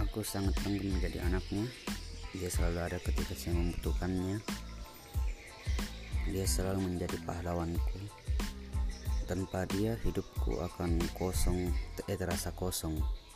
Aku sangat bangga menjadi anaknya. Dia selalu ada ketika saya membutuhkannya. Dia selalu menjadi pahlawanku. Tanpa dia hidupku akan kosong, terasa kosong.